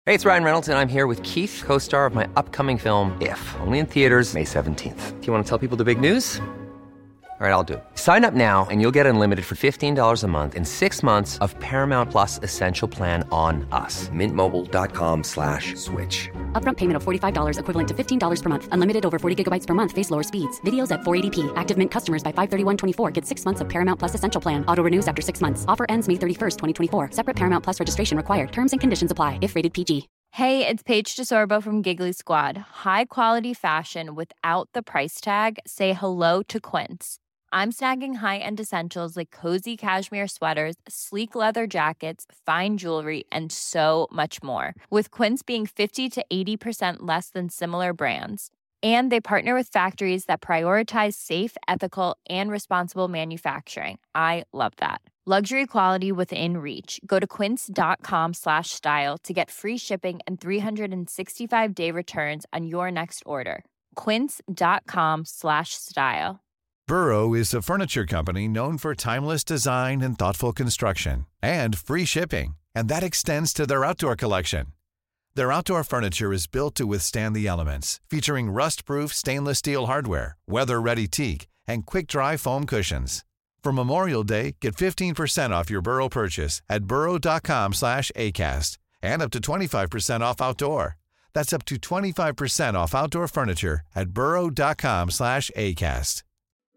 Hey, it's Ryan Reynolds, and I'm here with Keith, co-star of my upcoming film, If, only in theaters May 17th. Do you want to tell people the big news? All right, I'll do it. Sign up now and you'll get unlimited for $15 a month and 6 months of Paramount Plus Essential Plan on us. MintMobile.com/switch. Upfront payment of $45 equivalent to $15 per month. Unlimited over 40 gigabytes per month. Face lower speeds. Videos at 480p. Active Mint customers by 531.24 get 6 months of Paramount Plus Essential Plan. Auto renews after 6 months. Offer ends May 31st, 2024. Separate Paramount Plus registration required. Terms and conditions apply if rated PG. Hey, it's Paige DeSorbo from Giggly Squad. High quality fashion without the price tag. Say hello to Quince. I'm snagging high-end essentials like cozy cashmere sweaters, sleek leather jackets, fine jewelry, and so much more. With Quince being 50 to 80% less than similar brands. And they partner with factories that prioritize safe, ethical, and responsible manufacturing. I love that. Luxury quality within reach. Go to quince.com/style to get free shipping and 365-day returns on your next order. Quince.com/style. Burrow is a furniture company known for timeless design and thoughtful construction, and free shipping, and that extends to their outdoor collection. Their outdoor furniture is built to withstand the elements, featuring rust-proof stainless steel hardware, weather-ready teak, and quick-dry foam cushions. For Memorial Day, get 15% off your Burrow purchase at burrow.com/acast, and up to 25% off outdoor. That's up to 25% off outdoor furniture at burrow.com/acast.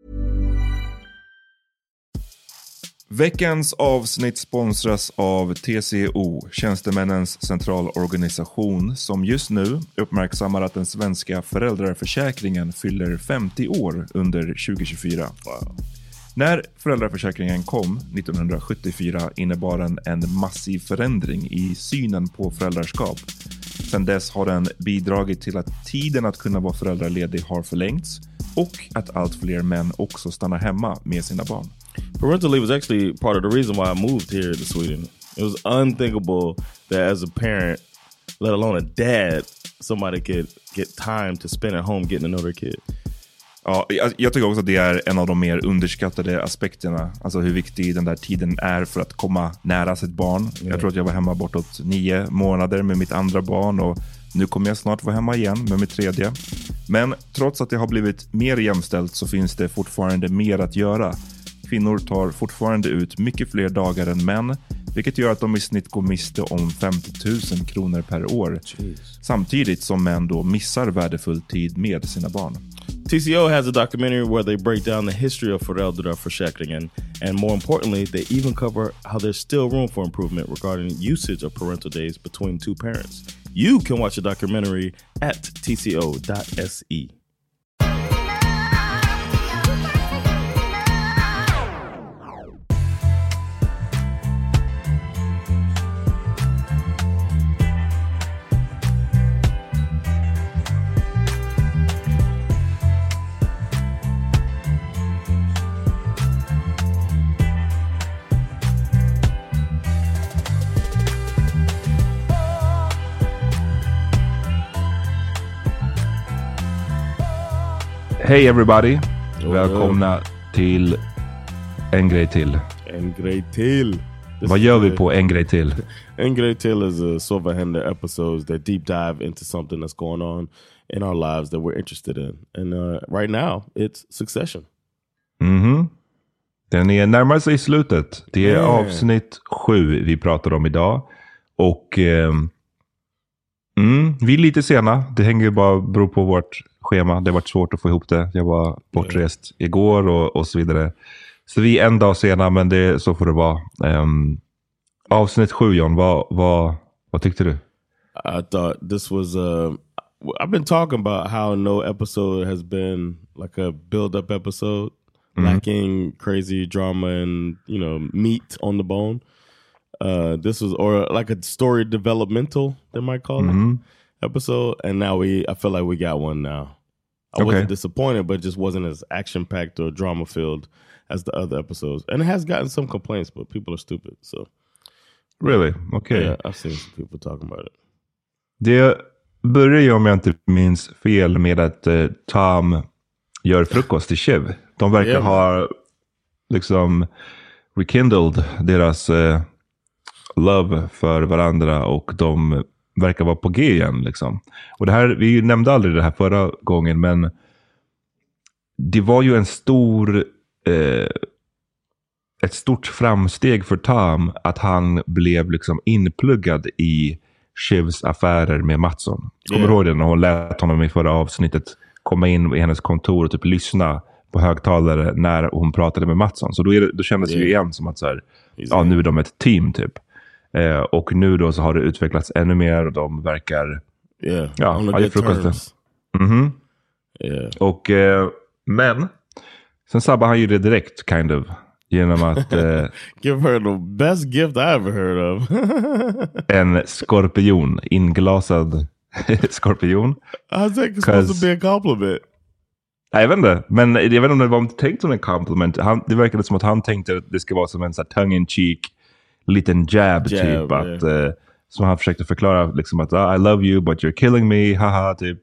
Veckans avsnitt sponsras av TCO, Tjänstemännens centralorganisation, som just nu uppmärksammar att den svenska föräldraförsäkringen fyller 50 år under 2024. Wow. När föräldraförsäkringen kom 1974 innebar den en massiv förändring i synen på föräldraskap. Sedan dess har den bidragit till att tiden att kunna vara föräldraledig har förlängts och att allt fler män också stannar hemma med sina barn. Parental leave was actually part of the reason why I moved here to Sweden. It was unthinkable that as a parent, let alone a dad, somebody could get time to spend at home getting to know their kid. Ja, jag tycker också att det är en av de mer underskattade aspekterna. Alltså hur viktig den där tiden är för att komma nära sitt barn. Yeah. Jag tror att jag var hemma bortåt 9 månader med mitt andra barn och nu kommer jag snart vara hemma igen med mitt tredje. Men trots att det har blivit mer jämställt så finns det fortfarande mer att göra. Kvinnor tar fortfarande ut mycket fler dagar än män, vilket gör att de i snitt går miste om 50 000 kronor per år. Jeez. Samtidigt som män då missar värdefull tid med sina barn. TCO has a documentary where they break down the history of föräldraförsäkringen, and more importantly, they even cover how there's still room for improvement regarding usage of parental days between two parents. You can watch the documentary at tco.se. Hej everybody, välkomna till En grej till. En grej till. Vad gör vi på En grej till? En grej till is a Sovahender episodes that deep dive into something that's going on in our lives that we're interested in. And right now, it's Succession. Den är närmare sig i slutet. Det är avsnitt 7 vi pratar om idag. Och vi är lite sena. Det hänger ju bara beror på vårt schema. Det har varit svårt att få ihop det. Jag var bortrest igår och så vidare. Så vi är en dag sena, men så får det vara. Avsnitt 7, John, vad tyckte du? I thought this was I've been talking about how no episode has been like a build-up episode, lacking crazy drama and, meat on the bone. This was, or like a story developmental, they might call it, episode. And now I feel like we got one now. I wasn't disappointed, but it just wasn't as action-packed or drama-filled as the other episodes. And it has gotten some complaints, but people are stupid, so. Really? Okay. Yeah, I've seen some people talking about it. Det börjar ju, om jag inte minns fel, med att Tom gör frukost till Shiv. De verkar ha liksom rekindled deras love för varandra, och de verkar vara på G igen liksom. Och det här, vi nämnde aldrig det här förra gången, men det var ju ett stort framsteg för Tom att han blev liksom inpluggad i Shivs affärer med Mattsson. Kommer du ihåg det när hon lät honom i förra avsnittet komma in i hennes kontor och typ lyssna på högtalare när hon pratade med Mattsson. Så då kändes det ju igen som att så här, nu är de ett team typ. Och nu då så har det utvecklats ännu mer och de verkar on frukost. Och men sen sabbar han ju det direkt kind of genom att give her the best gift I ever heard of. en skorpion, inglasad skorpion. I think it's supposed to be a compliment. Nej, jag vet inte. Men jag vet inte om det var tänkt som en compliment. Det verkade som att han tänkte att det ska vara som en så här tongue-in-cheek liten jab typ. Yeah. Att, som han försökte förklara liksom att I love you but you're killing me. Haha, typ.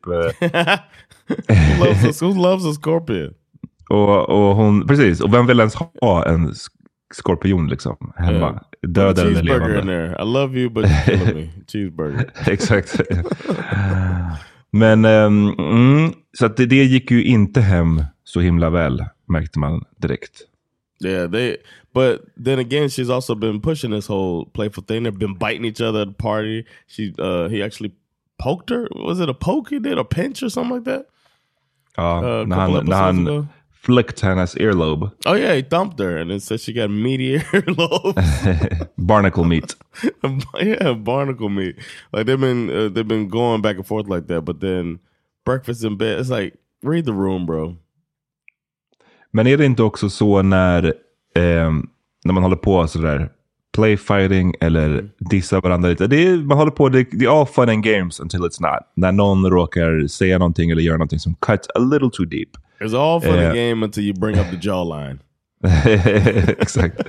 Who loves a scorpion? Och hon, precis. Och vem vill ens ha en skorpion liksom hemma? Död eller levande. In there. I love you but you're killing me. Cheeseburger. Exakt. Men så att det gick ju inte hem så himla väl, märkte man direkt. Yeah, but then again, she's also been pushing this whole playful thing. They've been biting each other at the party. He actually poked her. Was it a poke he did? A pinch or something like that? Ja, när han flicked hennes earlobe. Oh yeah, he thumped her and then said she got meaty earlobe. Barnacle meat. Yeah, barnacle meat. Like they've been going back and forth like that, but then breakfast in bed, it's like, read the room, bro. Men är det inte också så när man håller på sådär playfighting eller dissa varandra lite? Man håller på, det är all fun and games until it's not. När någon råkar säga någonting eller göra någonting som cuts a little too deep. It's all fun and game until you bring up the jawline. Exakt.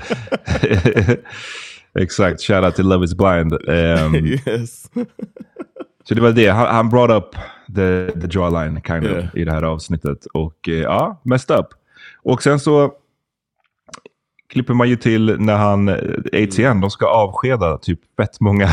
Exakt. Shout out to Love is Blind. Yes. Så det var det. Han brought up the jawline kind of i det här avsnittet. Och messed up. Och sen så klipper man ju till när han ATN, de ska avskeda typ fett många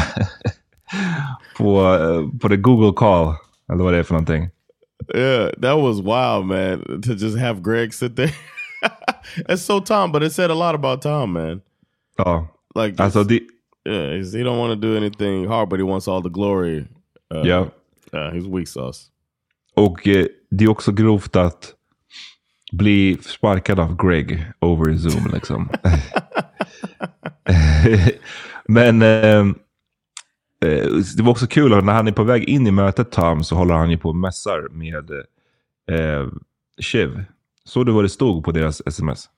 på the Google call. Eller vad det är för någonting. Yeah, that was wild, man. To just have Greg sit there. It's so Tom, but it said a lot about Tom, man. Ja. Like, alltså he don't want to do anything hard, but he wants all the glory. He's weak sauce. Och det är också grovt att bli sparkad av Greg over Zoom liksom. Men det var också kul att när han är på väg in i mötet Tom så håller han ju på och mässar med Shiv. Så det var det stod på deras sms.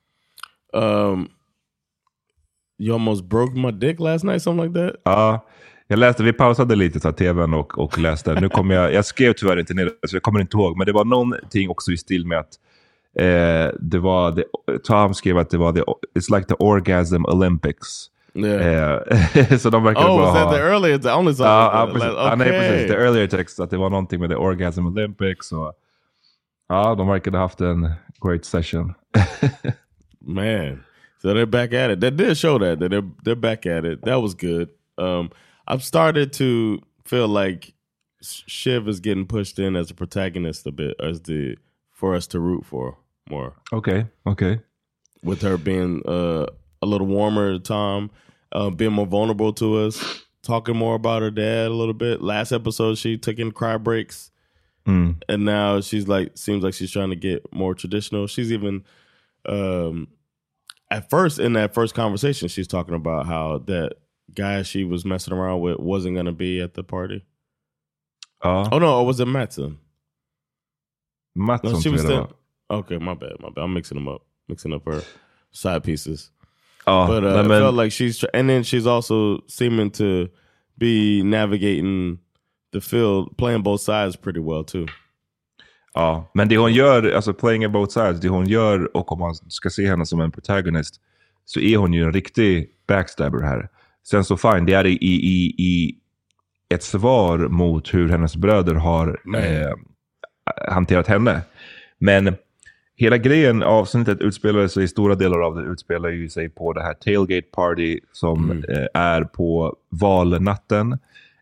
You almost broke my dick last night, something like that? Ja, jag läste, vi pausade lite så tvn och läste. Nu kommer jag skrev tyvärr inte ner så jag kommer inte ihåg. Men det var någonting också i stil med att det var Tom skrev att det var it's like the orgasm Olympics. Yeah. Så de verkar bara was that the earlier I only saw precis, the earlier text att det var någonting med the orgasm Olympics och de verkade haft en great session. Man, so they're back at it. That did show that they're back at it. That was good. I've started to feel like Shiv is getting pushed in as a protagonist a bit, for us to root for more. Okay. With her being a little warmer to Tom, being more vulnerable to us, talking more about her dad a little bit. Last episode, she took in cry breaks. And now seems like she's trying to get more traditional. She's even, at first, in that first conversation, she's talking about how that guy she was messing around with wasn't going to be at the party. Oh no, or was it Mattson? Mattson, no, she was still. Okay, my bad. I'm mixing up her side pieces. But I felt like and then she's also seeming to be navigating the field, playing both sides pretty well too. Ja, men det hon gör, alltså playing both sides, det hon gör, och om man ska se henne som en protagonist, så är hon ju en riktig backstabber här. Sen så fine, det är i ett svar mot hur hennes bröder har hanterat henne. Men hela grejen, avsnittet utspelar sig, i stora delar av det utspelar ju sig på det här tailgate party som är på valnatten.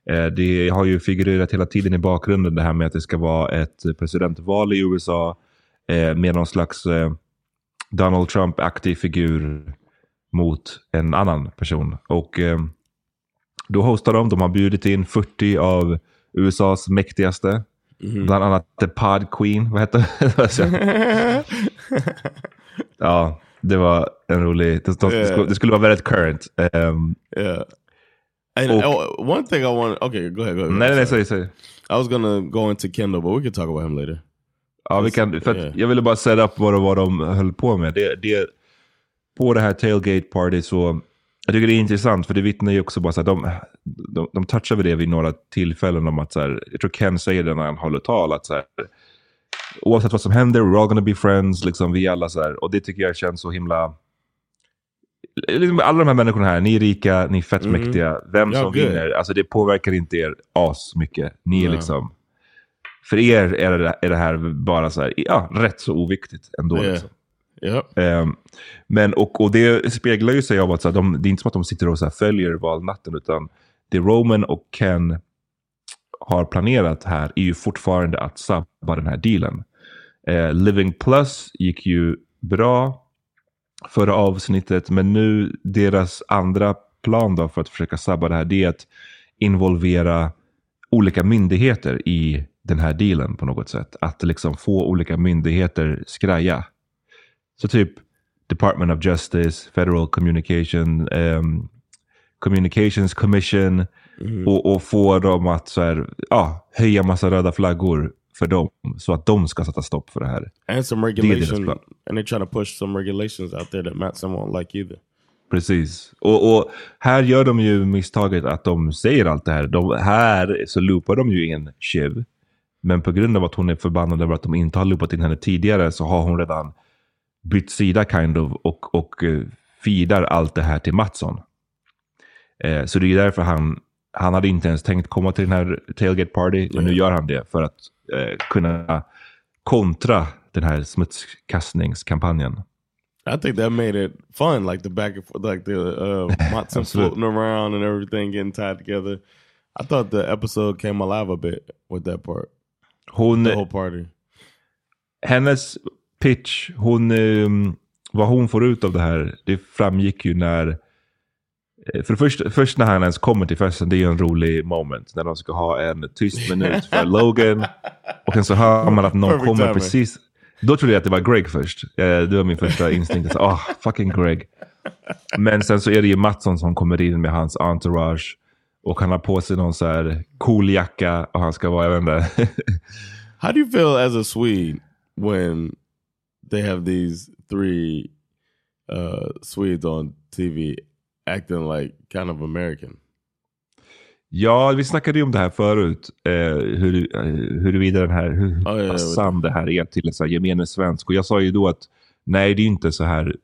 Det har ju figurerat hela tiden i bakgrunden det här med att det ska vara ett presidentval i USA med någon slags Donald Trump-aktig figur mot en annan person. Och då hostar de har bjudit in 40 av USAs mäktigaste. Bland annat The Pod Queen, vad heter det? Ja, det var en rolig... Det skulle vara väldigt current. Yeah. And one thing I want... Okay, go ahead. Nej, säg. I was gonna go into Kendall, but we can talk about him later. Ja, vi kan... För att jag ville bara set up vad de höll på med. Det, på det här tailgate party så... Jag tycker det är intressant, för det vittnar ju också bara så att de touchar vid det vid några tillfällen om att så här, jag tror Ken säger det när han håller tal, att så här, oavsett vad som händer, we're all gonna be friends, liksom vi alla så här, och det tycker jag känns så himla, liksom, alla de här människorna här, ni är rika, ni är fett mäktiga, vem som vinner, alltså det påverkar inte er as mycket, ni är liksom, för er är det här bara så här, ja, rätt så oviktigt ändå liksom. Yep. Men och det speglar ju sig av att så här, det är inte som att de sitter och så här följer valnatten, utan det Roman och Ken har planerat här är ju fortfarande att sabba den här dealen. Living Plus gick ju bra förra avsnittet, men nu deras andra plan då för att försöka sabba det här, det är att involvera olika myndigheter i den här dealen på något sätt. Att liksom få olika myndigheter skraja. Så typ Department of Justice, Federal Communications Commission och få dem att så här, höja massa röda flaggor för dem så att de ska sätta stopp för det här. And some regulation, and they're trying to push some regulations out there that Matsson won't like either. Precis. Och här gör de ju misstaget att de säger allt det här. Här så loopar de ju in Shiv. Men på grund av att hon är förbannad över att de inte har loopat in henne tidigare, så har hon redan bytt sida kind of och feedar allt det här till Matsson. Så det är därför han hade inte ens tänkt komma till den här tailgate party, men nu gör han det för att kunna kontra den här smutskastningskampanjen. I think that made it fun, like the back and forth, like the Matsson floating around and everything getting tied together. I thought the episode came alive a bit with that part. The whole party. Hennes pitch, vad hon får ut av det här, det framgick ju när, för först när han ens kommer till festen, det är ju en rolig moment när de ska ha en tyst minut för Logan, och sen så hör man att någon kommer precis, då trodde jag att det var Greg först, det var min första instinkt, så, fucking Greg, men sen så är det ju Matsson som kommer in med hans entourage, och han har på sig någon så här cool jacka, och han ska vara, jag vet inte. How do you feel as a Swede when they have these three Swedes on TV acting like kind of American? Ja, vi snackade ju om det här förut. Huruvida den här, hur sann det här är till en så här gemene svensk. Och jag sa ju då att nej, det är inte så här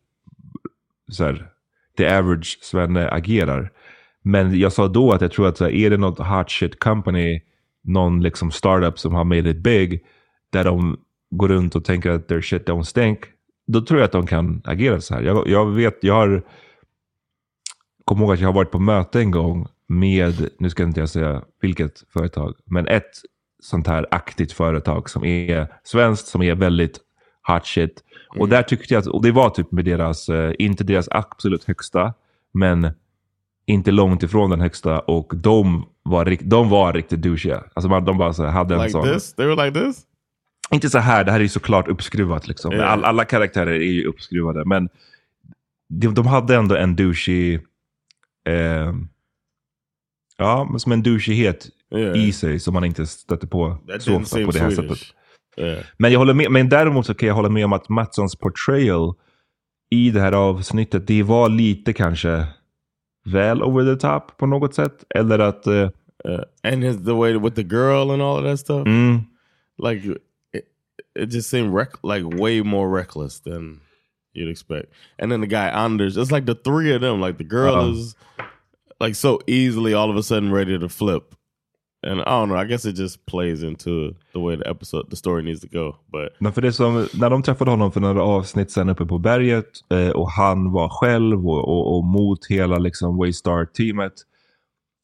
the average svenne agerar. Men jag sa då att jag tror att så här, är det något hot shit company, någon liksom startup som har made it big, där de går runt och tänker att their shit don't stink, då tror jag att de kan agera så här. Jag kommer ihåg att jag har varit på möte en gång med, nu ska inte jag säga vilket företag, men ett sånt här aktivt företag som är svenskt, som är väldigt hot shit. Och där tyckte jag att, och det var typ med deras, inte deras absolut högsta, men inte långt ifrån den högsta, och de var riktigt douchiga. Alltså de bara så hade en sån. This? They were like this? Inte så här, det här är ju såklart uppskruvat liksom. Yeah. Alla karaktärer är ju uppskruvade, men de hade ändå en douchig, som en douchighet i sig som man inte stötte på så ofta på det här sättet. Yeah. Men jag håller med, men däremot så kan jag hålla med om att Matssons portrayal i det här avsnittet, det var lite kanske väl over the top på något sätt, eller att and the way with the girl and all of that stuff, like it just seemed like way more reckless than you'd expect. And then the guy Anders, it's like the three of them, like the girl is like so easily all of a sudden ready to flip. And I don't know, I guess it just plays into the way the story needs to go. But men för det som, när de träffade honom för några avsnitt sen uppe på berget, och han var själv och mot hela liksom Waystar-teamet,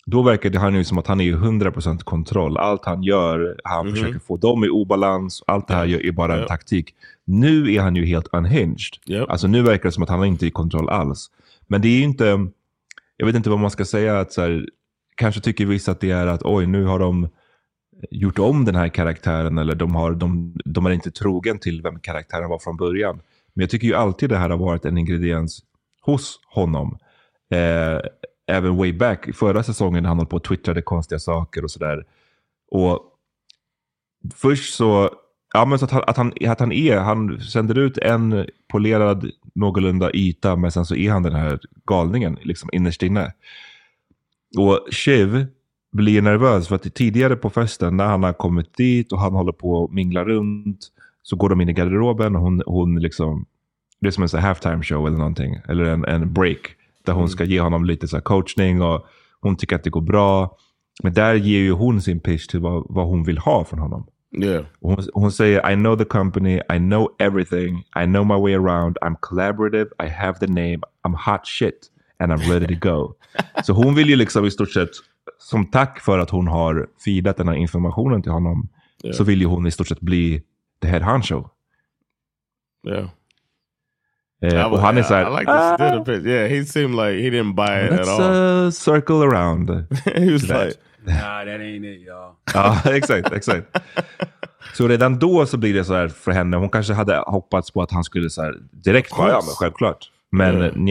Då verkar det han ju som att han är 100% kontroll. Allt han gör, han försöker få dem i obalans. Allt det här är bara en taktik. Nu är han ju helt unhinged. Alltså nu verkar det som att han inte är i kontroll alls. Men det är ju inte, jag vet inte vad man ska säga, att så här, kanske tycker vissa att det är att oj, nu har de gjort om den här karaktären, eller de är inte trogen till vem karaktären var från början. Men jag tycker ju alltid det här har varit en ingrediens hos honom. Även way back förra säsongen när han höll på och twittrade konstiga saker och sådär. Och först så, ja, men så att han sänder ut en polerad någorlunda yta, men sen så är han den här galningen liksom innerst inne. Och Shiv blir nervös för att tidigare på festen när han har kommit dit och han håller på att mingla runt, så går de in i garderoben och hon liksom, det är som en sån här halftime show eller någonting, eller en break där hon ska ge honom lite så här coachning, och hon tycker att det går bra. Men där ger ju hon sin pitch till vad hon vill ha från honom. Yeah. Hon säger, I know the company, I know everything, I know my way around, I'm collaborative, I have the name, I'm hot shit and I'm ready to go. Så hon vill ju liksom i stort sett, som tack för att hon har feedat den här informationen till honom, så vill ju hon i stort sett bli the head honcho. Yeah. Och han är så här, I like this. Yeah, he seemed like he didn't buy it at all. Circle around. He was like, nah, that ain't it, y'all. Ja, exakt. Så redan då så blir det så här för henne. Hon kanske hade hoppats på att han skulle så här direkt bara, ja men självklart. Men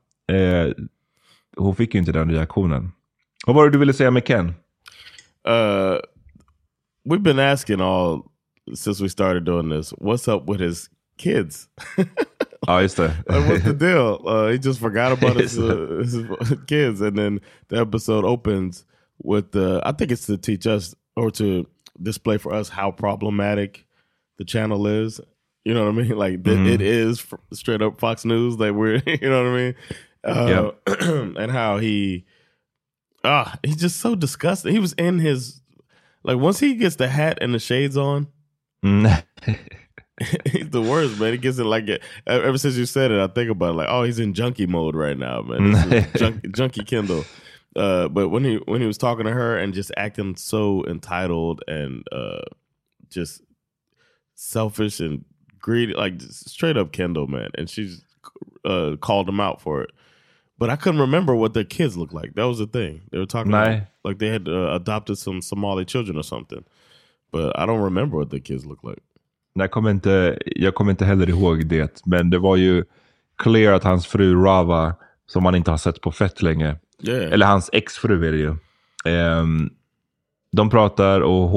hon fick ju inte den reaktionen. Vad var det du ville säga med Ken? We've been asking all since we started doing this, what's up with his kids? Ja, just det. What's the deal? He just forgot about his kids, and then the episode opens with I think it's to teach us, or to display for us how problematic the channel is. You know what I mean? Like it is straight up Fox News. Like we're, you know what I mean? And how he's just so disgusting. He was in his, like, once he gets the hat and the shades on. He's the worst, man. He gets it like it. Ever since you said it, I think about it, like, oh, he's in junkie mode right now, man. Junkie Kendall. But when he was talking to her and just acting so entitled and just selfish and greedy, like just straight up Kendall, man. And she's called him out for it. But I couldn't remember what their kids looked like. That was the thing. They were talking about, like they had adopted some Somali children or something. But I don't remember what their kids looked like. Jag kommer inte heller ihåg det. Men det var ju clear att hans fru Rava, som man inte har sett på fett länge. Yeah. Eller hans exfru är det ju. De pratar och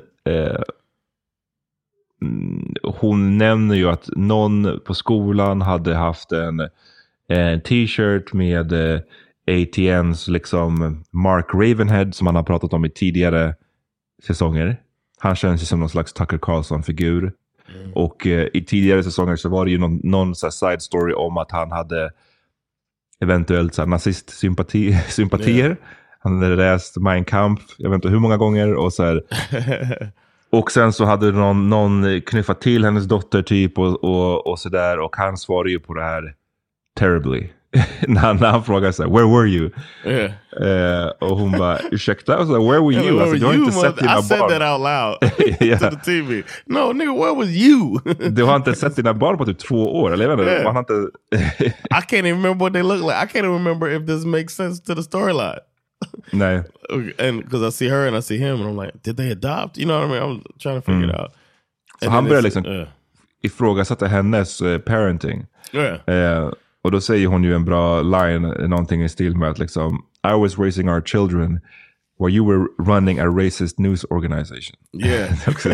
hon nämner ju att någon på skolan hade haft en t-shirt med ATNs liksom Mark Ravenhead, som han har pratat om i tidigare säsonger. Han känns ju som någon slags Tucker Carlson-figur. Och i tidigare säsonger så var det ju någon så här side story om att han hade eventuellt så här nazist-sympatier. Han hade läst Mein Kampf, jag vet inte hur många gånger, och så här. Och sen så hade någon knuffat till hennes dotter typ och så där, och han svarade ju på det här terribly. när han frågade så här, where were you? Och hon bara, ursäkta? Och så här, where were you? Alltså, du har inte sett dina barn. I said that out loud to the TV. No, nigga, where was you? Du har inte sett dina barn på typ 2 år, eller jag vet inte. Man har inte... I can't even remember what they look like. I can't even remember if this makes sense to the storyline. Nej. And because I see her and I see him and I'm like, did they adopt? You know what I mean? I'm trying to figure it out. Så han börjar liksom ifrågasätta hennes parenting. Och då säger hon ju en bra line, någonting i stil med att liksom, I was raising our children while you were running a racist news organization. Yeah.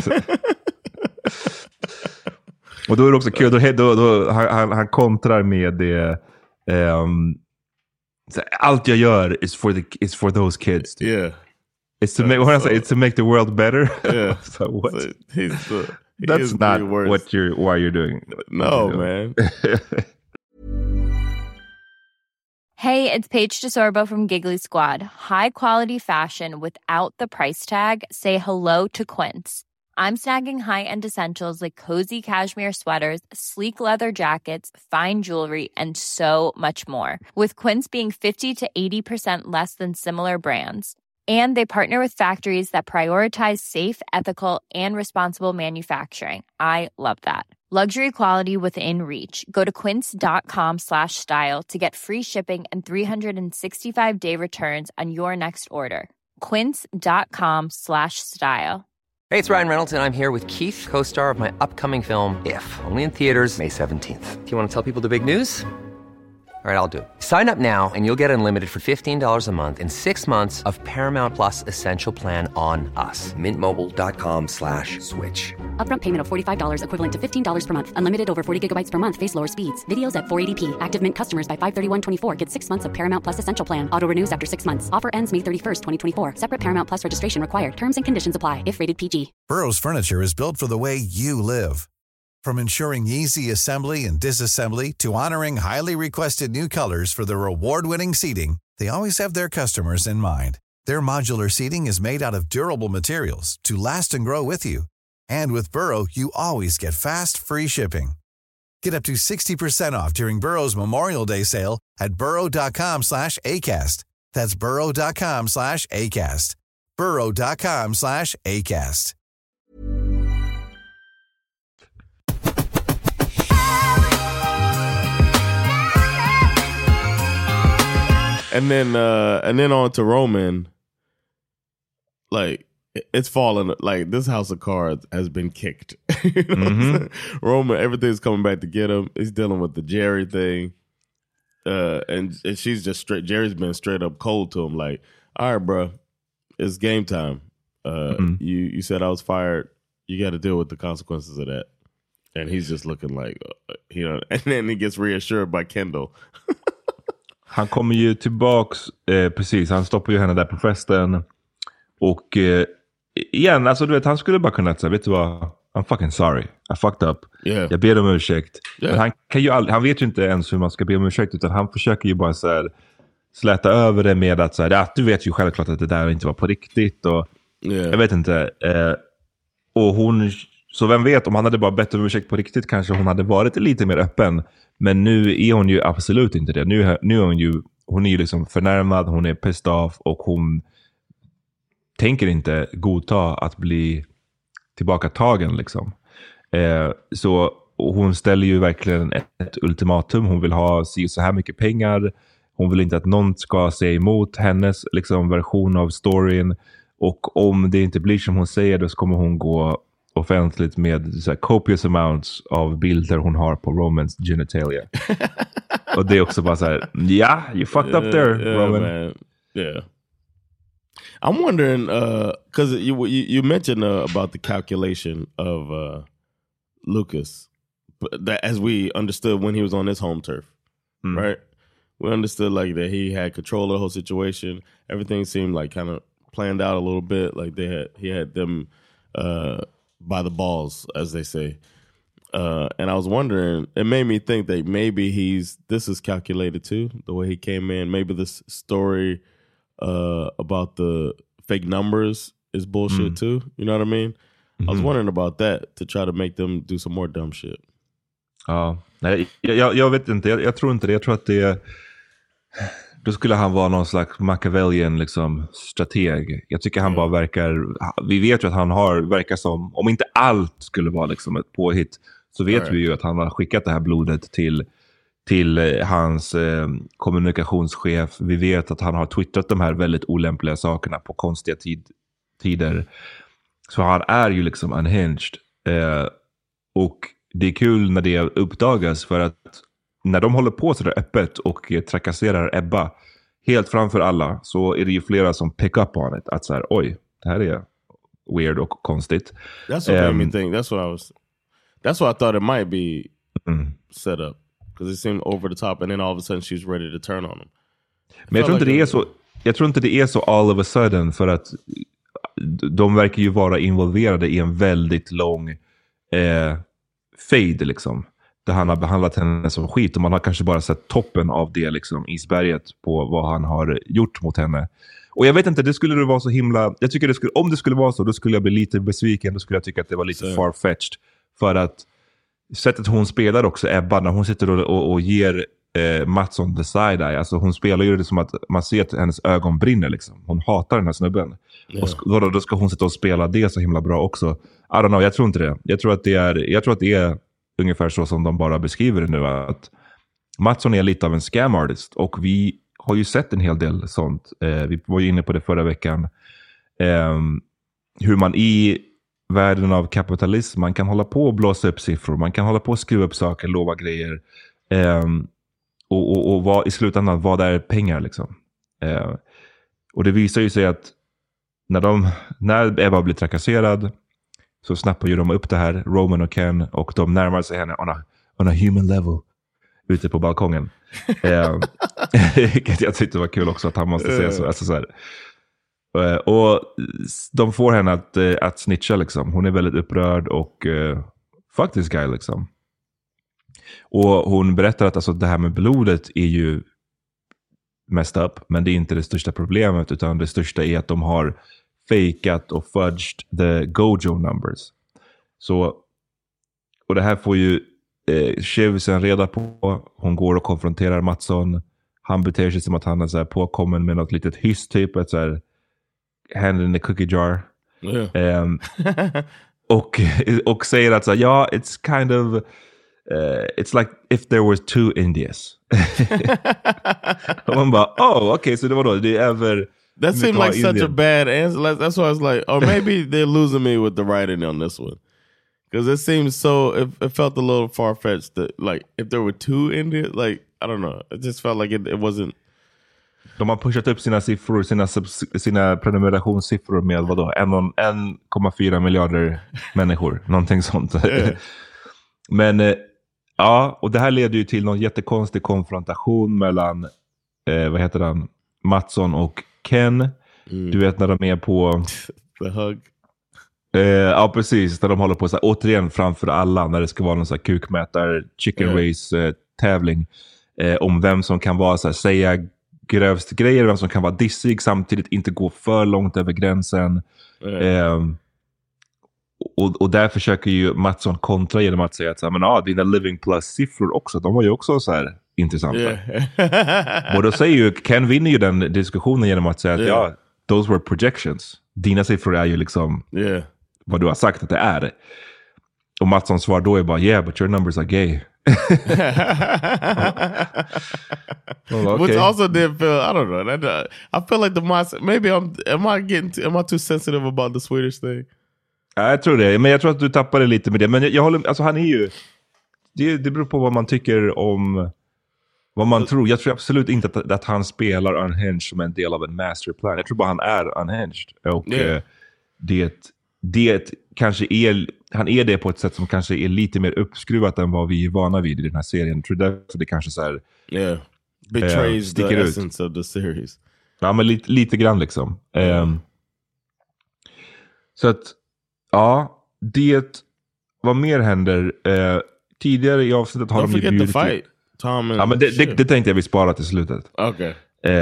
Och då är det också kul, då han kontrar med det, allt jag gör is for those kids. Yeah. It's to make the world better. Yeah. So what? So that's not why you're doing. No, man. Hey, it's Paige DeSorbo from Giggly Squad. High quality fashion without the price tag. Say hello to Quince. I'm snagging high-end essentials like cozy cashmere sweaters, sleek leather jackets, fine jewelry, and so much more. With Quince being 50 to 80% less than similar brands. And they partner with factories that prioritize safe, ethical, and responsible manufacturing. I love that. Luxury quality within reach. Go to quince.com/style to get free shipping and 365-day returns on your next order. Quince.com/style. Hey, it's Ryan Reynolds, and I'm here with Keith, co-star of my upcoming film, If, only in theaters May 17th. Do you want to tell people the big news? All right, I'll do it. Sign up now and you'll get unlimited for $15 a month and 6 months of Paramount Plus Essential Plan on us. MintMobile.com/switch. Upfront payment of $45 equivalent to $15 per month. Unlimited over 40 gigabytes per month. Face lower speeds. Videos at 480p. Active Mint customers by 531.24 get 6 months of Paramount Plus Essential Plan. Auto renews after 6 months. Offer ends May 31st, 2024. Separate Paramount Plus registration required. Terms and conditions apply if rated PG. Burrow's furniture is built for the way you live. From ensuring easy assembly and disassembly to honoring highly requested new colors for their award-winning seating, they always have their customers in mind. Their modular seating is made out of durable materials to last and grow with you. And with Burrow, you always get fast, free shipping. Get up to 60% off during Burrow's Memorial Day sale at burrow.com/ACAST. That's burrow.com/ACAST. burrow.com/ACAST. And then on to Roman. Like, it's fallen. Like, this house of cards has been kicked. You know Roman, everything's coming back to get him. He's dealing with the Jerry thing. And she's just straight. Jerry's been straight up cold to him. Like, all right, bro, it's game time. You said I was fired. You got to deal with the consequences of that. And he's just looking like, and then he gets reassured by Kendall. Han kommer ju tillbaks, precis, han stoppar ju henne där på festen. Och igen, alltså du vet, han skulle bara kunna säga, vet du vad, I'm fucking sorry, I fucked up. Jag ber om ursäkt. Men han kan ju han vet ju inte ens hur man ska be om ursäkt, utan han försöker ju bara så här släta över det med att så här, du vet ju självklart att det där inte var på riktigt. Och jag vet inte. Och hon, så vem vet, om han hade bara bett om ursäkt på riktigt kanske hon hade varit lite mer öppen. Men nu är hon ju absolut inte det. Nu är hon är ju liksom förnärmad, hon är pissed off och hon tänker inte godta att bli tillbaka tagen liksom. Så hon ställer ju verkligen ett ultimatum. Hon vill ha så här mycket pengar. Hon vill inte att någon ska säga emot hennes liksom version av storyn. Och om det inte blir som hon säger, då kommer hon gå offentligt med så här copious amounts av bilder hon har på Romans genitalia. Och det är också bara så här, you fucked up there, Roman. Man. Yeah. I'm wondering, because you mentioned about the calculation of Lucas, that as we understood when he was on his home turf, right? We understood like that he had control of the whole situation. Everything seemed like kind of planned out a little bit, like he had them by the balls, as they say. And I was wondering, it made me think that maybe this is calculated too, the way he came in. Maybe this story about the fake numbers is bullshit too. You know what I mean? I was wondering about that to try to make them do some more dumb shit. Ja, nej, jag vet inte. Jag tror inte det. Jag tror att då skulle han vara någon slags Machiavellian liksom strateg. Jag tycker han bara verkar, vi vet ju att han verkar som, om inte allt skulle vara liksom ett påhitt, så vet vi ju att han har skickat det här blodet till hans kommunikationschef. Vi vet att han har twittrat de här väldigt olämpliga sakerna på konstiga tider. Så han är ju liksom unhinged. Och det är kul när det uppdagas, för att när de håller på så där öppet och trakasserar Ebba helt framför alla, så är det ju flera som pick up on it. Att så här, oj, det här är weird och konstigt. That's what made me think. That's what I thought it might be set up. Because it seemed over the top, and then all of a sudden she's ready to turn on him. Men jag tror inte det är så. Jag tror inte det är så all of a sudden, för att de verkar ju vara involverade i en väldigt lång fade liksom, där han har behandlat henne som skit, och man har kanske bara sett toppen av det liksom, isberget på vad han har gjort mot henne. Och jag vet inte, det skulle vara så himla, jag tycker om det skulle vara så, då skulle jag bli lite besviken, då skulle jag tycka att det var lite far-fetched, för att sättet hon spelar också, Ebba, när hon sitter och ger Mattsson the side-eye. Alltså hon spelar ju det som att man ser att hennes ögon brinner liksom. Hon hatar den här snubben. Och då ska hon sitta och spela det så himla bra också. I don't know, jag tror inte det. Jag tror att det är ungefär så som de bara beskriver det nu. Att Mattsson är lite av en scam artist. Och vi har ju sett en hel del sånt. Vi var ju inne på det förra veckan. Hur man i världen av kapitalism, man kan hålla på och blåsa upp siffror. Man kan hålla på och skruva upp saker, lova grejer. Och vad, i slutändan, vad är pengar liksom. Och det visar ju sig att när Eva blir trakasserad så snappar ju de upp det här, Roman och Ken, och de närmar sig henne on a human level ute på balkongen. Jag tyckte det var kul också att han måste säga så. Alltså så här. Och de får henne att snitcha liksom. Hon är väldigt upprörd och fuck this guy liksom. Och hon berättar att alltså, det här med blodet är ju messed up, men det är inte det största problemet, utan det största är att de har fakat och fudged the Gojo numbers. Så, och det här får ju Shiv sen reda på. Hon går och konfronterar Mattsson. Han beter sig som att han är så här påkommen med något litet hyss typ, ett så här hand in the cookie jar. Yeah. Och säger att så här, ja, it's kind of it's like if there was two Indias. Och man bara, okay, så det var då det är över. That seemed like such a bad answer. That's why I was like, or maybe they're losing me with the writing on this one. Because it seems so, it felt a little far-fetched that, like, if there were two Indians, like, I don't know. It just felt like it wasn't. De har pushat upp sina siffror, sina prenumerationssiffror med vadå? 1,4 miljarder människor. Någonting sånt. Yeah. Men ja, och det här leder ju till någon jättekonstig konfrontation mellan, vad heter han? Mattsson och Ken. Du vet när de är på the hug. Ja, precis. När de håller på så här, återigen framför alla, när det ska vara någon så här kukmätar chicken race tävling om vem som kan vara så här, säga grövst grejer, vem som kan vara dissig samtidigt inte gå för långt över gränsen. Och där försöker ju Mattsson kontra genom att säga att så här, men dina living plus siffror också, de var ju också så här intressanta. Och då säger ju Ken vinner ju den diskussionen genom att säga att those were projections. Dina siffror är ju liksom vad du har sagt att det är. Och Mattsson svar då är bara but your numbers are gay. Okay. Which also did feel, I don't know. I feel like maybe am I too sensitive about the Swedish thing? Ja, jag tror det. Men jag tror att du tappade lite med det. Men jag håller, alltså han är ju, det beror på vad man tycker om, vad man tror. Jag tror absolut inte att han spelar unhinged som en del av en masterplan. Jag tror bara han är unhinged. Och det kanske är, han är det på ett sätt som kanske är lite mer uppskruvat än vad vi är vana vid i den här serien. Jag tror därför det kanske så här betrays the essence of the series. Ja, men lite grann liksom. Så att vad mer händer? Tidigare i avsnittet har de ju bjudit fight. Men det tänkte jag vi spara till slutet. Okay.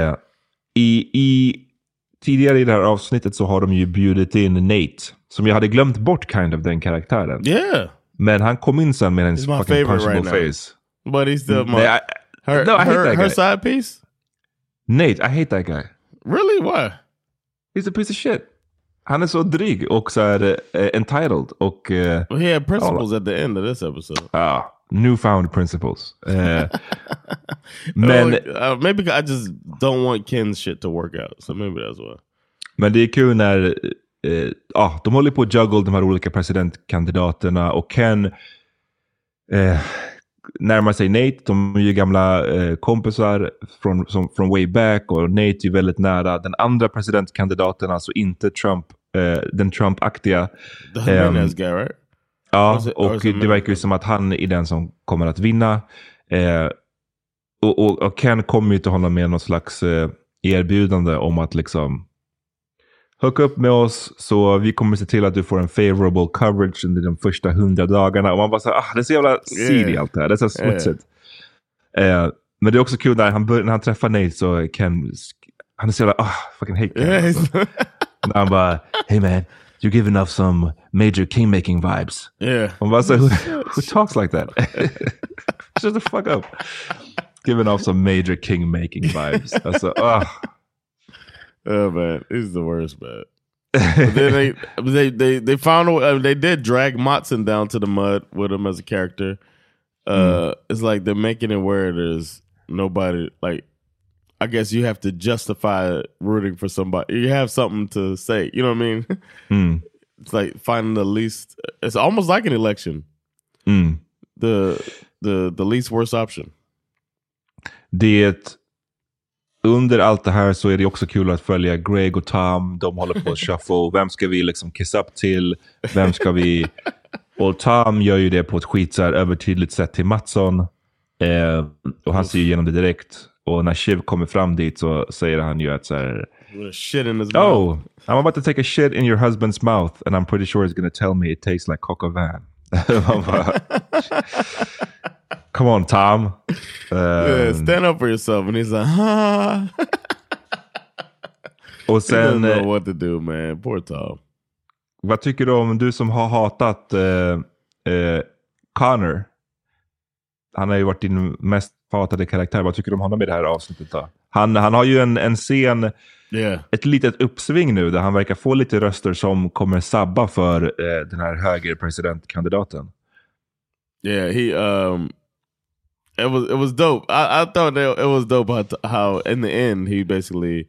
Tidigare i det här avsnittet så har de ju bjudit in Nate, som jag hade glömt bort kind of den karaktären. Yeah. Men han kom in sen med en fucking punchable face. But he's still her side piece? Nate, I hate that guy. Really? Why? He's a piece of shit. Han är så dryg och så är entitled och he had principles at the end of this episode. Newfound principles. Men maybe I just don't want Ken's shit to work out, so maybe that's why. Men det är kul när de håller på att juggle de här olika presidentkandidaterna och Ken närmar sig Nate. De är ju gamla kompisar från way back, och Nate är ju väldigt nära den andra presidentkandidaten, alltså inte Trump, den Trump-aktiga. The Jimenez guy, right? Ja, och det verkar ju som att han är den som kommer att vinna. Och Ken kommer ju till honom med något slags erbjudande om att liksom hook upp med oss, så vi kommer se till att du får en favorable coverage under de första 100 dagarna. Och man bara så det är så jävla seedy allt det här. Det är så smutsigt. Men det är också kul när han träffar Nate, så Ken, han är så jävla fucking hate Ken. Han bara, hey man, you're giving off some major kingmaking vibes. Yeah. Man bara så who talks like that? Shut the fuck up. Giving off some major king-making vibes. Alltså, Oh man, he's the worst, man. But then they found a way, they did drag Matson down to the mud with him as a character. It's like they're making it where there's nobody, like, I guess you have to justify rooting for somebody. You have something to say, you know what I mean? It's like finding the least, it's almost like an election. The least worst option. Under allt det här så är det också kul att följa Greg och Tom. De håller på att shuffle. Vem ska vi liksom kiss up till? Vem ska vi... Och Tom gör ju det på ett skit så här övertydligt sätt till Matson. Och han ser ju igenom det direkt. Och när Shiv kommer fram dit så säger han ju att så här... Shit in his mouth. Oh, I'm about to take a shit in your husband's mouth and I'm pretty sure he's gonna tell me it tastes like coq au vin. Come on, Tom. Stand up for yourself. And he's like, Och sen, he doesn't know what to do, man. Poor Tom. Vad tycker du om, du som har hatat Connor? Han har ju varit din mest hatade karaktär. Vad tycker du om honom i det här avsnittet då? Han har ju en scen, ett litet uppsving nu där han verkar få lite röster som kommer sabba för den här högerpresidentkandidaten. Yeah, it was dope. I thought that it was dope how in the end he basically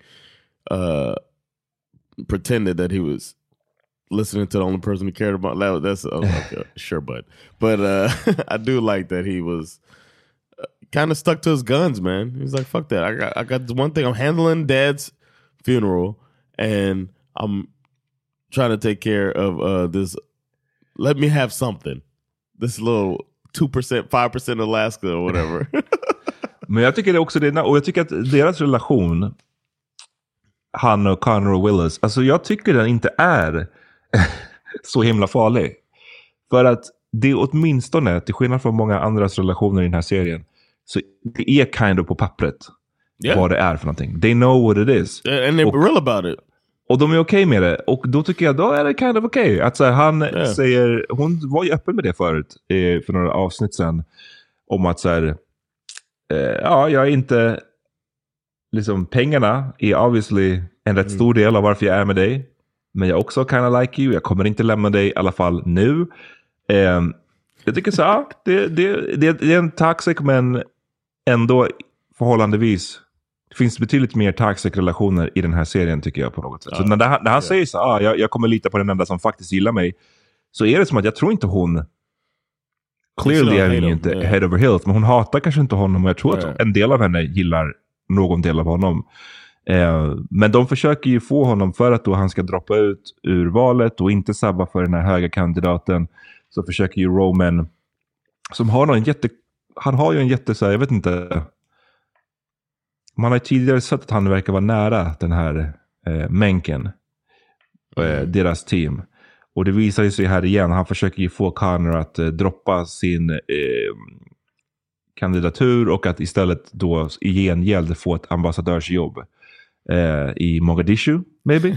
pretended that he was listening to the only person he cared about. That's okay, sure, but I do like that he was kind of stuck to his guns, man. He's like, fuck that. I got one thing. I'm handling Dad's funeral, and I'm trying to take care of this. Let me have something. This little 2%, 5% Alaska or whatever. Men jag tycker det också det, och jag tycker att deras relation, han och Connor och Willis, alltså jag tycker den inte är så himla farlig. För att det är åtminstone, till skillnad från många andras relationer i den här serien, så det är kind of på pappret vad det är för någonting. They know what it is. And they're real about it. Och de är okej med det. Och då tycker jag, då är det kind of okej. Att så här, han säger, hon var ju öppen med det förut, för några avsnitt sedan, om att så här, ja, jag är inte, liksom, pengarna är obviously en rätt stor del av varför jag är med dig. Men jag också kind of like you. Jag kommer inte lämna dig i alla fall nu. Jag tycker så här, det är en toxic, men ändå förhållandevis. Det finns betydligt mer toxic relationer i den här serien, tycker jag, på något sätt. Så när han säger så här, jag kommer lita på den enda som faktiskt gillar mig, så är det som att jag tror inte hon, clearly är hon ju inte head over heels, men hon hatar kanske inte honom, och jag tror att en del av henne gillar någon del av honom. Men de försöker ju få honom, för att då han ska droppa ut ur valet och inte sabba för den här höga kandidaten, så försöker ju Roman, som har han har ju en jätte så här, jag vet inte, man har tidigare sett att han verkar vara nära den här Mencken, deras team. Och det visar sig här igen, han försöker ju få Connor att droppa sin kandidatur, och att istället då i gengäld få ett ambassadörsjobb i Mogadishu, maybe.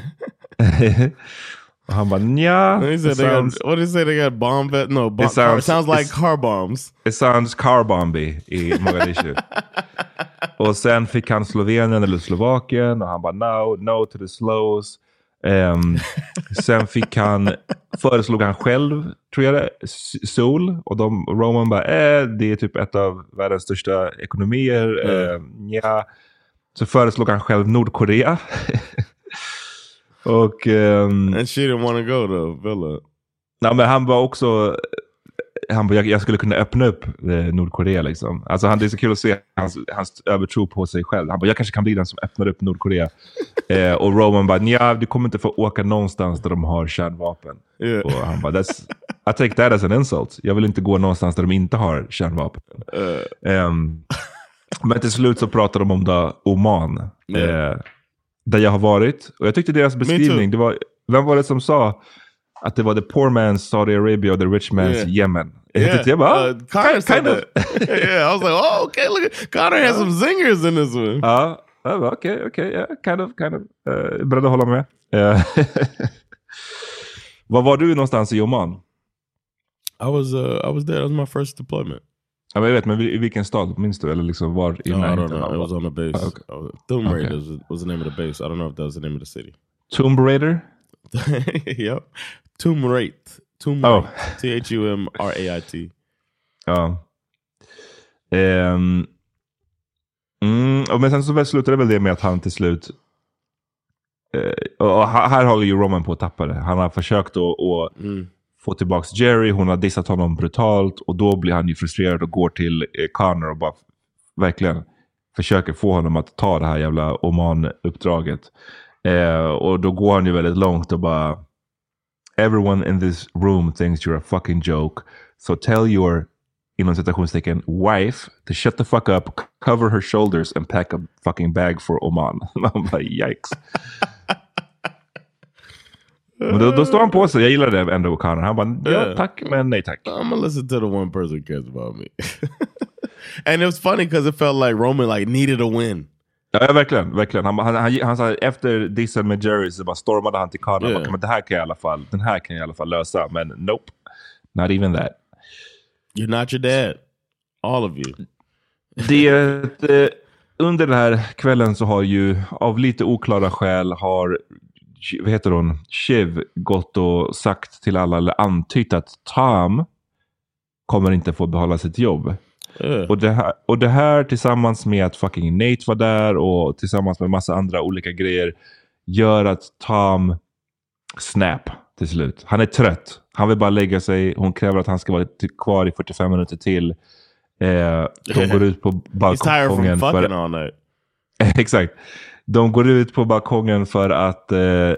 Och han bara, nja. What did he say? They got bomb vet? No, it sounds like car bombs. It sounds car bomby i Mogadishu. Och sen fick han Slovenien eller Slovakien, och han bara, no to the slows. Sen föreslog han själv, tror jag det, Seoul, och Roman bara, det är typ ett av världens största ekonomier. Ja. Så föreslog han själv Nordkorea. Och and she didn't want to go to Villa. Nej, men han var också, jag skulle kunna öppna upp Nordkorea liksom. Alltså det är så kul att se hans övertro på sig själv. Han bara, jag kanske kan bli den som öppnar upp Nordkorea. Och Roman bara, nja, du kommer inte få åka någonstans där de har kärnvapen. Och han bara, I take that as an insult. Jag vill inte gå någonstans där de inte har kärnvapen. Men till slut så pratar de om Oman. Där jag har varit. Och jag tyckte deras beskrivning, det var, vem var det som sa att det var the poor man's Saudi Arabia och the rich man's Yemen? Jag bara, kind of. Yeah, I was like, oh, okay, look at Connor has some zingers in this one. Ja, okay, yeah, kind of. Beredd att hålla med. Var var du någonstans i Oman? I was there. That was my first deployment. Ja, men jag vet, men i vilken stad minns du? Eller liksom var i I don't know. It was on the base. Okay. Tomb Raider was the name of the base. I don't know if that was the name of the city. Tomb Raider? Yep. Tomb Raider. T-H-U-M-R-A-I-T. Ja. Men sen så slutade väl det med att han till slut och här håller ju Roman på att tappa det. Han har försökt att få tillbaks Jerry. Hon har dissat honom brutalt. Och då blir han ju frustrerad och går till Connor och bara verkligen försöker få honom att ta det här jävla Oman-uppdraget. Och då går han ju väldigt långt och bara everyone in this room thinks you're a fucking joke. So tell your, inom citationstecken, wife to shut the fuck up, cover her shoulders and pack a fucking bag for Oman. Man bara, yikes. Men då står han på sig. Jag gillar det ändå, Connor. Han bara, ja tack, men nej tack. I'm gonna listen to the one person who cares about me. And it was funny because it felt like Roman like needed a win. Ja, verkligen. Han sa efter dissen med Jerry så bara stormade han till Connor. Yeah. Men den här kan jag i alla fall lösa. Men nope, not even that. You're not your dad. All of you. Under den här kvällen så har ju av lite oklara skäl har, vad heter hon, Shiv gått och sagt till alla, eller antytt att Tom kommer inte få behålla sitt jobb. Och det här tillsammans med att fucking Nate var där och tillsammans med massa andra olika grejer gör att Tom snap till slut. Han är trött. Han vill bara lägga sig. Hon kräver att han ska vara kvar i 45 minuter till. De går ut på balkongen för... Exakt. De går ut på balkongen för att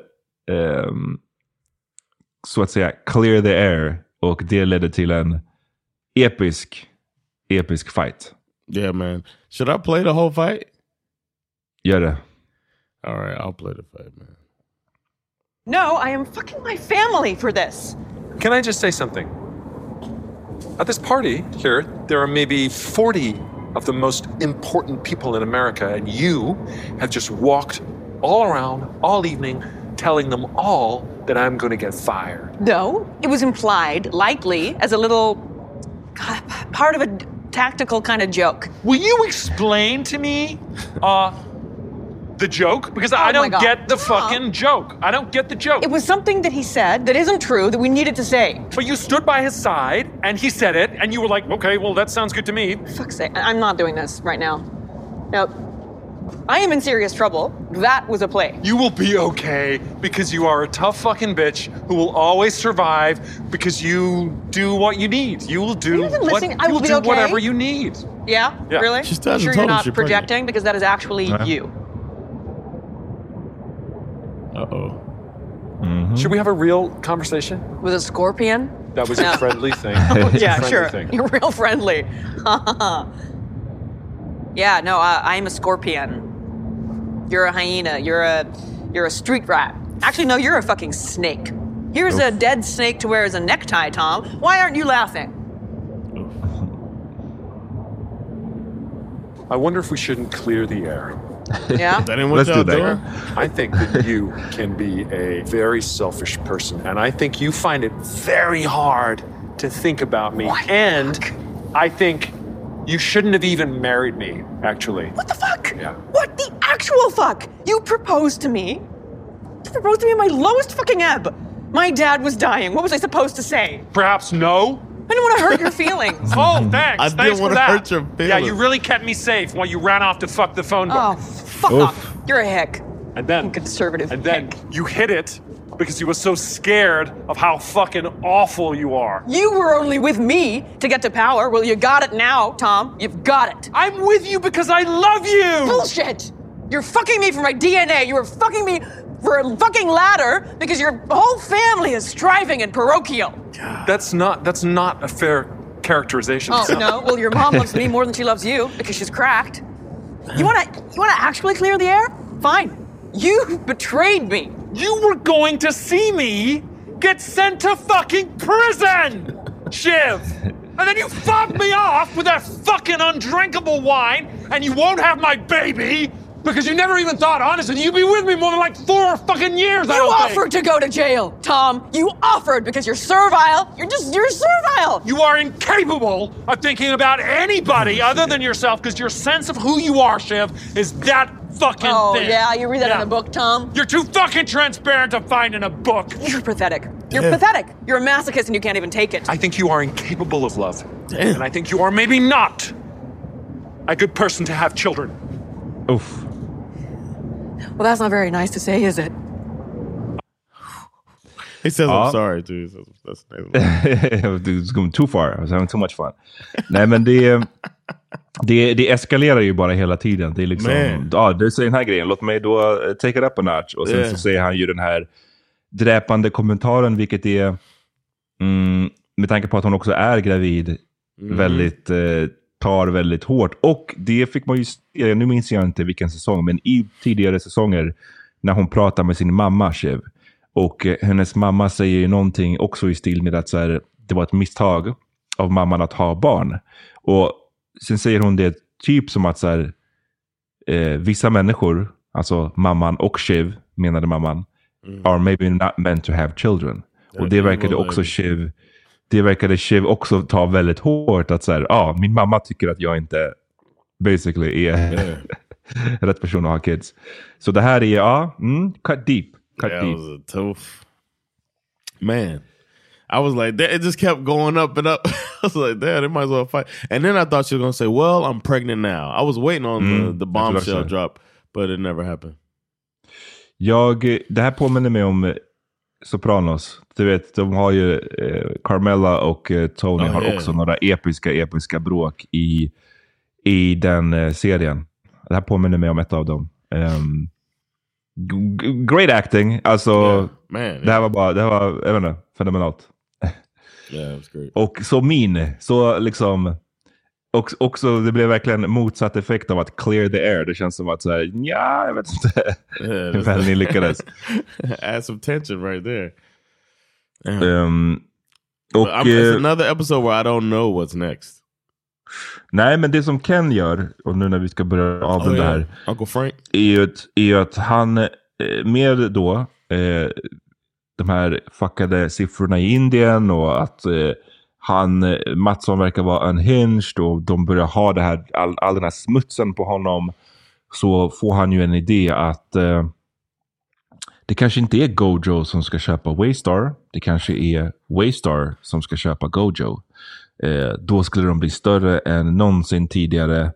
så att säga clear the air. Och det ledde till en episk fight. Yeah, man. Should I play the whole fight? Gör det. All right, I'll play the fight, man. No, I am fucking my family for this. Can I just say something? At this party here, there are maybe 40 of the most important people in America, and you have just walked all around all evening telling them all that I'm going to get fired. No, it was implied, likely, as a little part of a tactical kind of joke. Will you explain to me the joke? Because I don't get the fucking joke. I don't get the joke. It was something that he said that isn't true that we needed to say. But you stood by his side and he said it and you were like, okay, well, that sounds good to me. For fuck's sake, I'm not doing this right now. No, I am in serious trouble. That was a play. You will be okay because you are a tough fucking bitch who will always survive because you do what you need. You will do whatever you need. Yeah? Really? She's sure you're not projecting because that is actually you. Uh-oh. Mm-hmm. Should we have a real conversation? With a scorpion? That was a friendly thing. Yeah, sure. Thing. You're real friendly. Yeah, no, I'm a scorpion. You're a hyena. You're a street rat. Actually, no, you're a fucking snake. Here's a dead snake to wear as a necktie, Tom. Why aren't you laughing? I wonder if we shouldn't clear the air. Yeah? Let's do that. I think that you can be a very selfish person, and I think you find it very hard to think about me. What? And I think you shouldn't have even married me, actually. What the fuck? Yeah. What the actual fuck? You proposed to me? You proposed to me in my lowest fucking ebb. My dad was dying. What was I supposed to say? Perhaps no. I don't want to hurt your feelings. Oh, thanks. I didn't want to hurt your feelings. Yeah, you really kept me safe while you ran off to fuck the phone book. Oh, fuck off. You're a hick. And then conservative And then you hit it because you were so scared of how fucking awful you are. You were only with me to get to power. Well, you got it now, Tom. You've got it. I'm with you because I love you. Bullshit. You're fucking me for my DNA. You were fucking me for a fucking ladder because your whole family is striving and parochial. That's not a fair characterization. Oh, no? Well, your mom loves me more than she loves you because she's cracked. You wanna actually clear the air? Fine. You betrayed me. You were going to see me get sent to fucking prison, Shiv. And then you fobbed me off with that fucking undrinkable wine, and you won't have my baby. Because you never even thought, honestly, you'd be with me more than like 4 fucking years. You offered to go to jail, Tom. You offered because you're servile. You're servile. You are incapable of thinking about anybody other than yourself because your sense of who you are, Shiv, is that fucking thin. Yeah, you read that in a book, Tom. You're too fucking transparent to find in a book. You're pathetic. You're pathetic. You're a masochist and you can't even take it. I think you are incapable of love. Damn. And I think you are maybe not a good person to have children. Uff. Well, that's not very nice to say, is it? He says I'm sorry, dude. It's going too far. I was having too much fun. Nej, men det eskalerar ju bara hela tiden. Det är liksom, det säger den här grejen. Låt mig då take it up a notch. Och sen så säger han ju den här dräpande kommentaren, vilket är med tanke på att hon också är gravid väldigt tar väldigt hårt. Och det fick man ju se, nu minns jag inte vilken säsong, men i tidigare säsonger när hon pratar med sin mamma, Shiv. Och hennes mamma säger ju någonting också i stil med att så här, det var ett misstag av mamman att ha barn. Och sen säger hon det typ som att så här, vissa människor, alltså mamman och Shiv, menade mamman, are maybe not meant to have children. Och det verkade också Shiv, också ta väldigt hårt att så här, min mamma tycker att jag inte basically är rätt person att ha kids. Så det här är cut deep. Cut deep. That was a tough. Man, I was like, it just kept going up and up. I was like, damn, they might as well fight. And then I thought she was going to say, well, I'm pregnant now. I was waiting on the bombshell drop, but it never happened. Det här påminner mig om Sopranos. Du vet, de har ju Carmela och Tony har också några episka bråk i den serien. Det här påminner mig om ett av dem. Great acting. Alltså, det här var jag vet inte, fenomenalt. Yeah, it was great. Och så liksom också det blev verkligen motsatt effekt av att clear the air. Det känns som att så här, jag vet inte hur väl ni lyckades. Add some tension right there. Och it's another episode where I don't know what's next. Nej, men det som Ken gör, och nu när vi ska börja avrunda här, Uncle Frank, är ju att han med då de här fuckade siffrorna i Indien och att Mattsson verkar vara unhinged och de börjar ha det här, all den här smutsen på honom, så får han ju en idé att det kanske inte är Gojo som ska köpa Waystar, det kanske är Waystar som ska köpa Gojo. Då skulle de bli större än någonsin tidigare.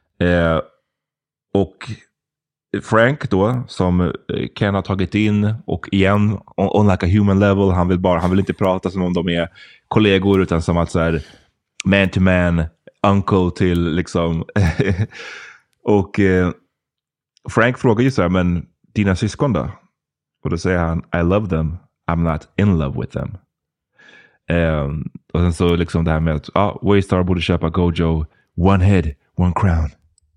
Och Frank då, som Ken har tagit in, och igen on like a human level, han vill inte prata som om de är kollegor, utan som att så här, man to man, uncle till liksom och Frank frågar ju så här, men dina syskon då? Och då säger han, I love them, I'm not in love with them. Och sen så liksom det här med att Waystar borde köpa Gojo, one head, one crown.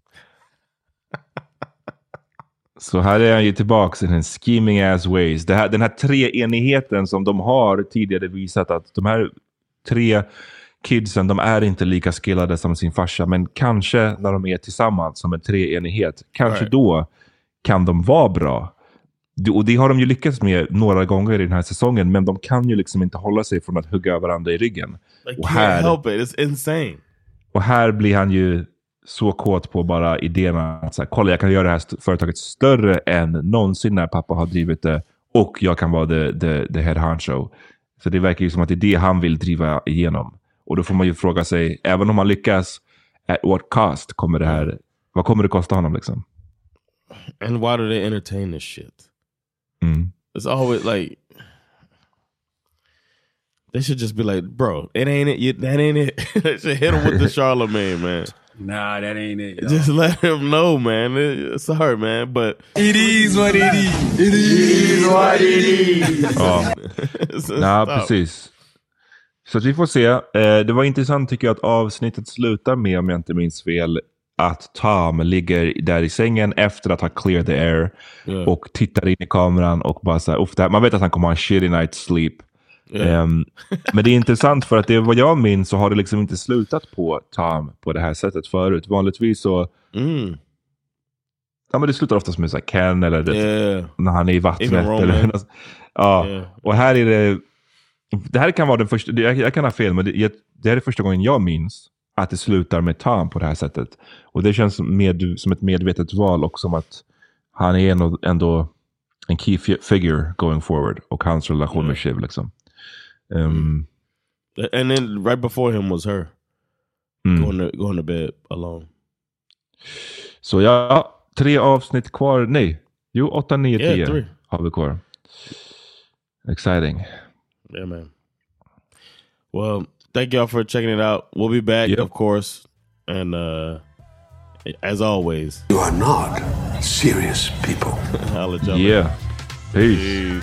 Så här är han ju tillbaka i den scheming ass ways. Den här treenigheten som de har tidigare visat, att de här 3 kidsen, de är inte lika skillade som sin farsa, men kanske när de är tillsammans som en treenighet, kanske då kan de vara bra. Och det har de ju lyckats med några gånger i den här säsongen, men de kan ju liksom inte hålla sig från att hugga varandra i ryggen. Och här, help it. It's insane. Och här blir han ju så kåt på bara idéerna att så här, kolla, jag kan göra det här företaget större än någonsin när pappa har drivit det, och jag kan vara the head honcho. Så det verkar ju som att det är det han vill driva igenom. Och då får man ju fråga sig, även om han lyckas, at what cost kommer det här, vad kommer det kosta honom liksom? And why do they entertain this shit? It's always like, they should just be like, bro, it ain't it. That ain't it. They should hit him with the Charlemagne, man. Nah, that ain't it. Yo. Just let him know, man. Sorry, man, but it is what it is. It is what it is. Ja, precis. Så att vi får se. Det var intressant tycker jag att avsnittet slutar med, om jag inte minns fel, att Tom ligger där i sängen efter att ha cleared the air och tittar in i kameran och bara så här, man vet att han kommer ha en shitty night's sleep. Men det är intressant för att det, vad jag minns, så har det liksom inte slutat på Tom på det här sättet förut. Vanligtvis så Ja, men det slutar oftast med så här Ken eller när han är i vattnet. Eller, och här är det här kan vara den första, jag kan ha fel, men det är första gången jag minns att det slutar med Tom på det här sättet. Och det känns som ett medvetet val och som att han är ändå en key figure going forward och hans relation med Shiv liksom. And then right before him was her going to bed alone. Så 3 avsnitt kvar. Nej, 8, 9, 10 har vi kvar. Exciting. Yeah, man. Well, thank y'all for checking it out. We'll be back, of course. And as always, You are not serious people. I'll let y'all Yeah. Peace.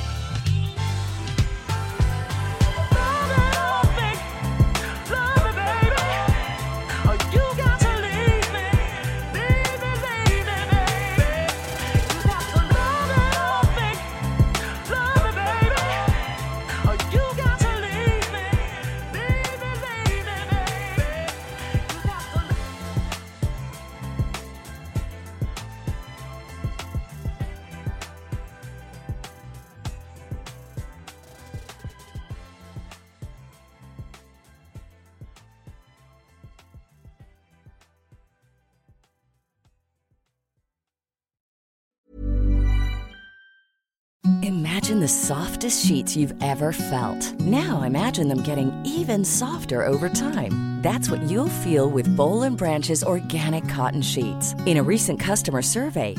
Imagine the softest sheets you've ever felt. Now imagine them getting even softer over time. That's what you'll feel with Boll & Branch's organic cotton sheets. In a recent customer survey,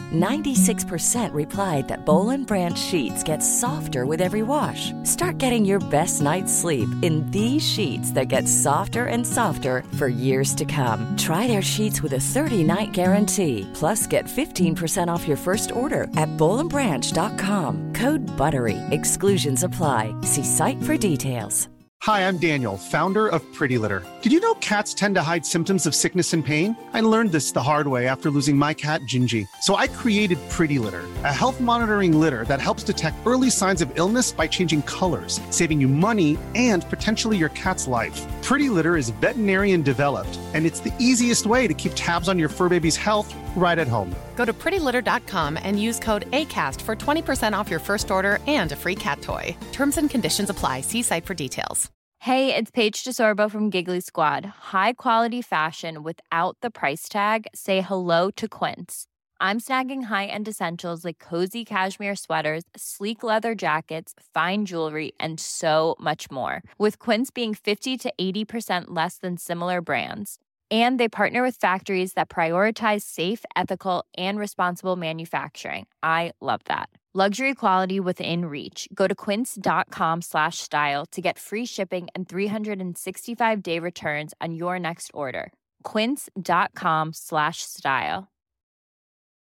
96% replied that Boll & Branch sheets get softer with every wash. Start getting your best night's sleep in these sheets that get softer and softer for years to come. Try their sheets with a 30-night guarantee. Plus, get 15% off your first order at bollandbranch.com. Code BUTTERY. Exclusions apply. See site for details. Hi, I'm Daniel, founder of Pretty Litter. Did you know cats tend to hide symptoms of sickness and pain? I learned this the hard way after losing my cat, Gingy. So I created Pretty Litter, a health monitoring litter that helps detect early signs of illness by changing colors, saving you money and potentially your cat's life. Pretty Litter is veterinarian developed, and it's the easiest way to keep tabs on your fur baby's health right at home. Go to prettylitter.com and use code ACAST for 20% off your first order and a free cat toy. Terms and conditions apply. See site for details. Hey, it's Paige DeSorbo from Giggly Squad. High quality fashion without the price tag. Say hello to Quince. I'm snagging high-end essentials like cozy cashmere sweaters, sleek leather jackets, fine jewelry, and so much more. With Quince being 50 to 80% less than similar brands. And they partner with factories that prioritize safe, ethical, and responsible manufacturing. I love that. Luxury quality within reach. Go to quince.com/style to get free shipping and 365-day returns on your next order. Quince.com/style.